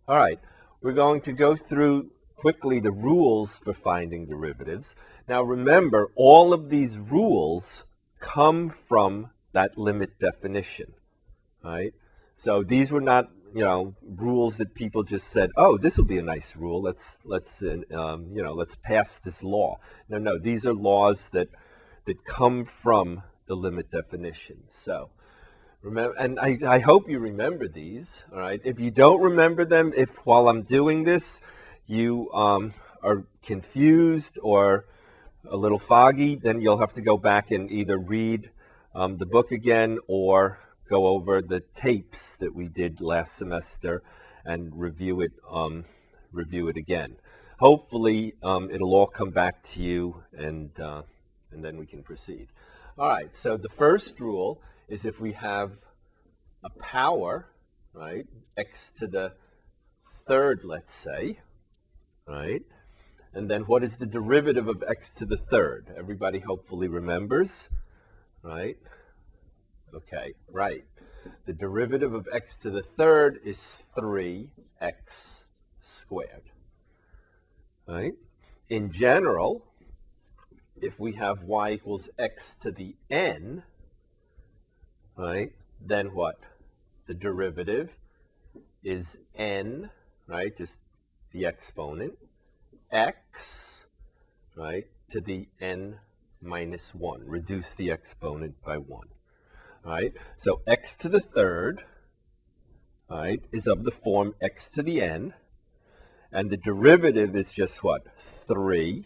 All right, we're going to go through quickly the rules for finding derivatives. Now remember, all of these rules come from that limit definition, right? So these were not, rules that people just said, "Oh, this will be a nice rule. Let's pass this law." No, no, these are laws that come from the limit definition. So remember, and I hope you remember these. All right. If you don't remember them, if while I'm doing this, you are confused or a little foggy, then you'll have to go back and either read the book again or go over the tapes that we did last semester and review it again. Hopefully, it'll all come back to you, and then we can proceed. All right. So the first rule is if we have a power, right, x to the third, let's say, right, and then what is the derivative of x to the third? Everybody hopefully remembers, right? Okay, right. The derivative of x to the third is 3x squared, right? In general, if we have y equals x to the n, right, then what? The derivative is n, right, just the exponent, x, right, to the n minus 1. Reduce the exponent by 1. All right, so x to the third, right, is of the form x to the n, and the derivative is just what? 3x,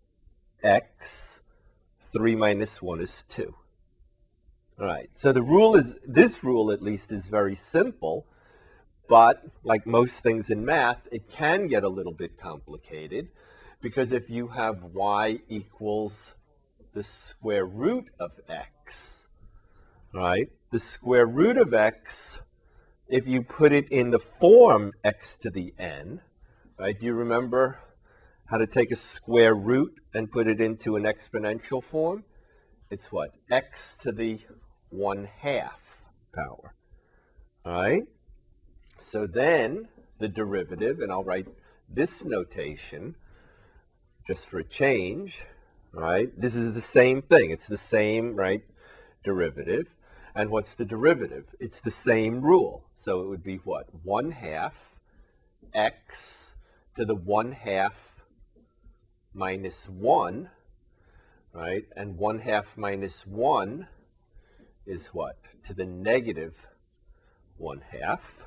3 minus 1 is 2. All right, so this rule at least is very simple, but like most things in math, it can get a little bit complicated, because if you have y equals the square root of x, right? The square root of x, if you put it in the form x to the n, right? Do you remember how to take a square root and put it into an exponential form? It's what? X to the 1/2 power, all right? So then the derivative, and I'll write this notation just for a change, right? This is the same thing. It's the same, right, derivative. And what's the derivative? It's the same rule. So it would be what? 1/2 x to the 1/2 minus 1, right? And 1/2 minus 1 is what? To the negative 1/2,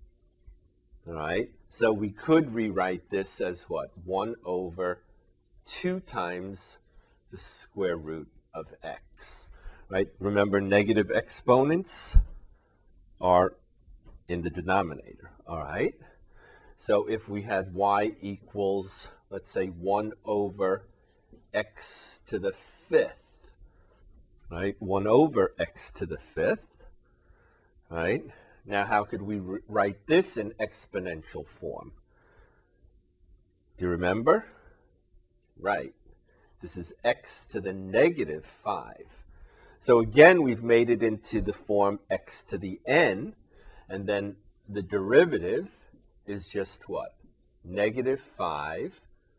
all right? So we could rewrite this as what? 1 over 2 times the square root of x, right? Remember, negative exponents are in the denominator, all right? So if we had y equals, let's say, 1 over x to the 5th, right? 1 over x to the 5th, right? Now, how could we write this in exponential form? Do you remember? Right. This is x to the negative 5. So again, we've made it into the form x to the n, and then the derivative is just what? Negative 5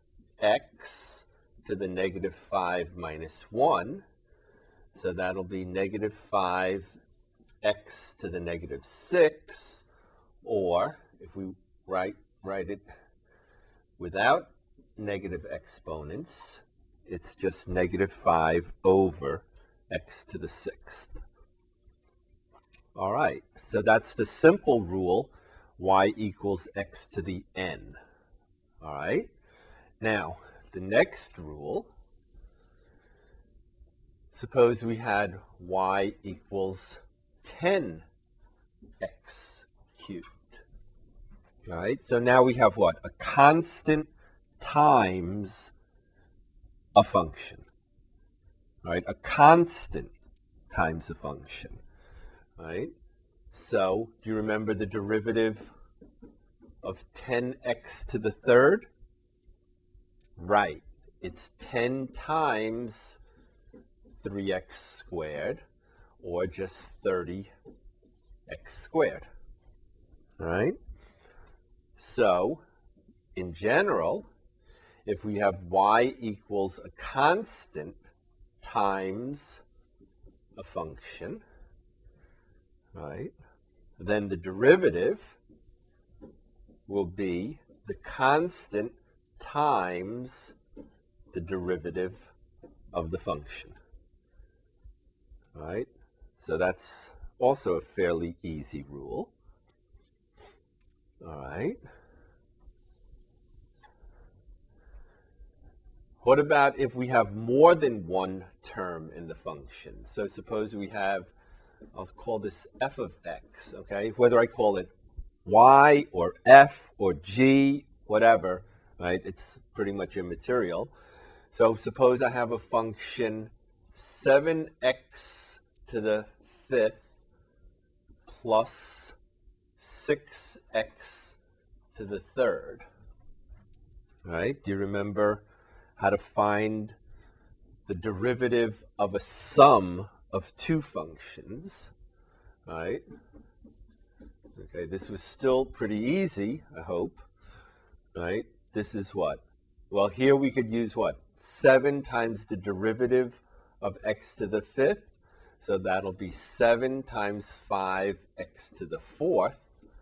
x to the negative 5 minus 1. So that'll be negative 5 x to the negative 6, or if we write it without negative exponents, it's just negative 5 over x to the 6th. All right, so that's the simple rule, y equals x to the n. All right, now the next rule, suppose we had y equals 10x cubed. All right, so now we have what? A constant times a function. All right, a constant times a function. All right, so do you remember the derivative of 10x to the third? Right, it's 10 times 3x squared, or just 30x squared. All right, So, in general, if we have y equals a constant times a function, right, then the derivative will be the constant times the derivative of the function. All right, so that's also a fairly easy rule. All right. What about if we have more than one term in the function? So suppose we have, I'll call this f of x, okay? Whether I call it y or f or g, whatever, right? It's pretty much immaterial. So suppose I have a function 7x to the 5th plus 6x to the 3rd, right? Do you remember how to find the derivative of a sum of two functions, right? Okay, this was still pretty easy, I hope, right? This is what? Well, here we could use what? 7 times the derivative of x to the 5th, so that'll be 7 times 5x to the 4th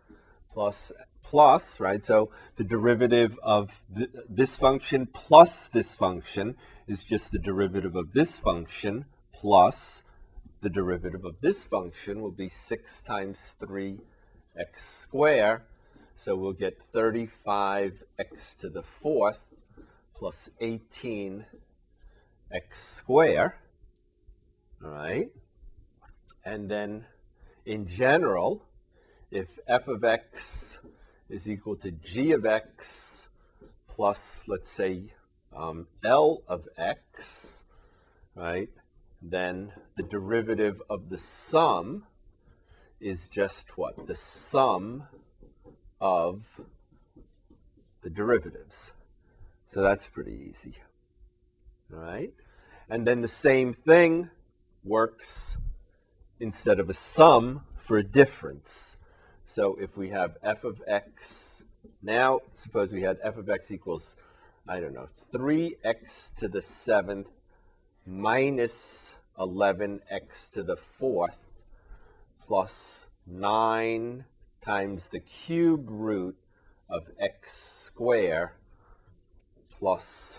plus, right? So the derivative of this function plus this function is just the derivative of this function plus the derivative of this function will be 6 times 3x squared. So we'll get 35x to the 4th plus 18x squared. All right. And then in general, if f of x is equal to g of x plus, let's say, L of x, right, then the derivative of the sum is just what? The sum of the derivatives. So that's pretty easy, all right? And then the same thing works instead of a sum for a difference. So if we have f of x, now suppose we had f of x equals, I don't know, 3x to the 7th minus 11x to the 4th plus 9 times the cube root of x squared plus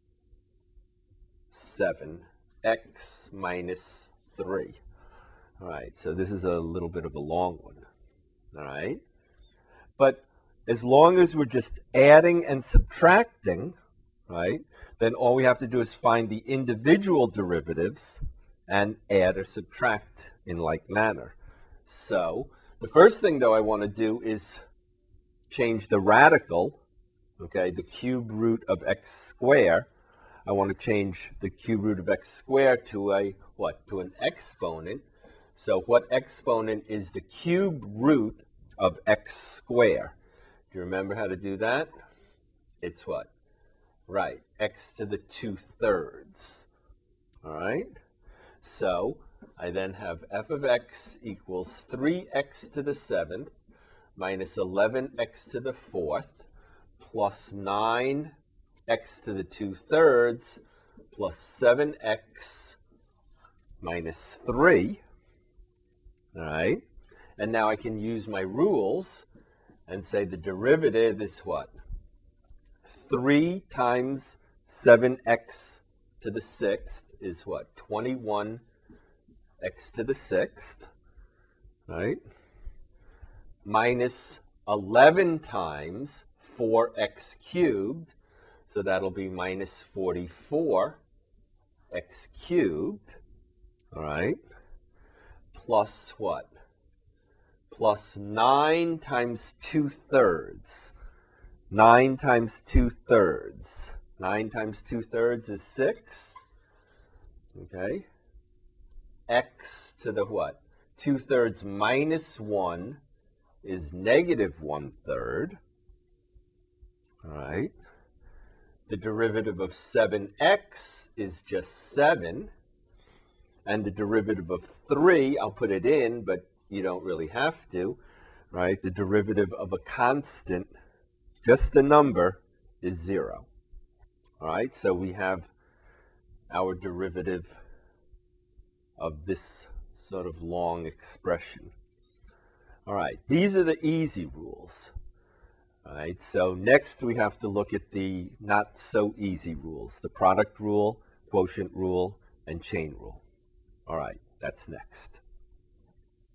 7x minus 3. All right, so this is a little bit of a long one. All right, but as long as we're just adding and subtracting, right, then all we have to do is find the individual derivatives and add or subtract in like manner. So the first thing, though, I want to do is change the radical, okay, the cube root of x squared. I want to change the cube root of x squared to a what? To an exponent. So what exponent is the cube root of x squared? Do you remember how to do that? It's what? Right, x to the 2/3. All right? So I then have f of x equals 3x to the 7th minus 11x to the 4th plus 9x to the 2/3 plus 7x minus 3. All right? And now I can use my rules and say the derivative is what? 3 times 7x to the 6th is what? 21x to the 6th, right? Minus 11 times 4x cubed, so that'll be minus 44x cubed, all right? Plus what? Plus 9 times 2/3. 9 times 2/3. 9 times 2/3 is 6. Okay. X to the what? 2/3 minus 1 is negative 1/3. All right. The derivative of 7x is just 7. And the derivative of 3, I'll put it in, but you don't really have to, right? The derivative of a constant just a number, is 0. All right, so we have our derivative of this sort of long expression. All right, these are the easy rules. All right, so next we have to look at the not so easy rules, the product rule, quotient rule, and chain rule. All right, that's next.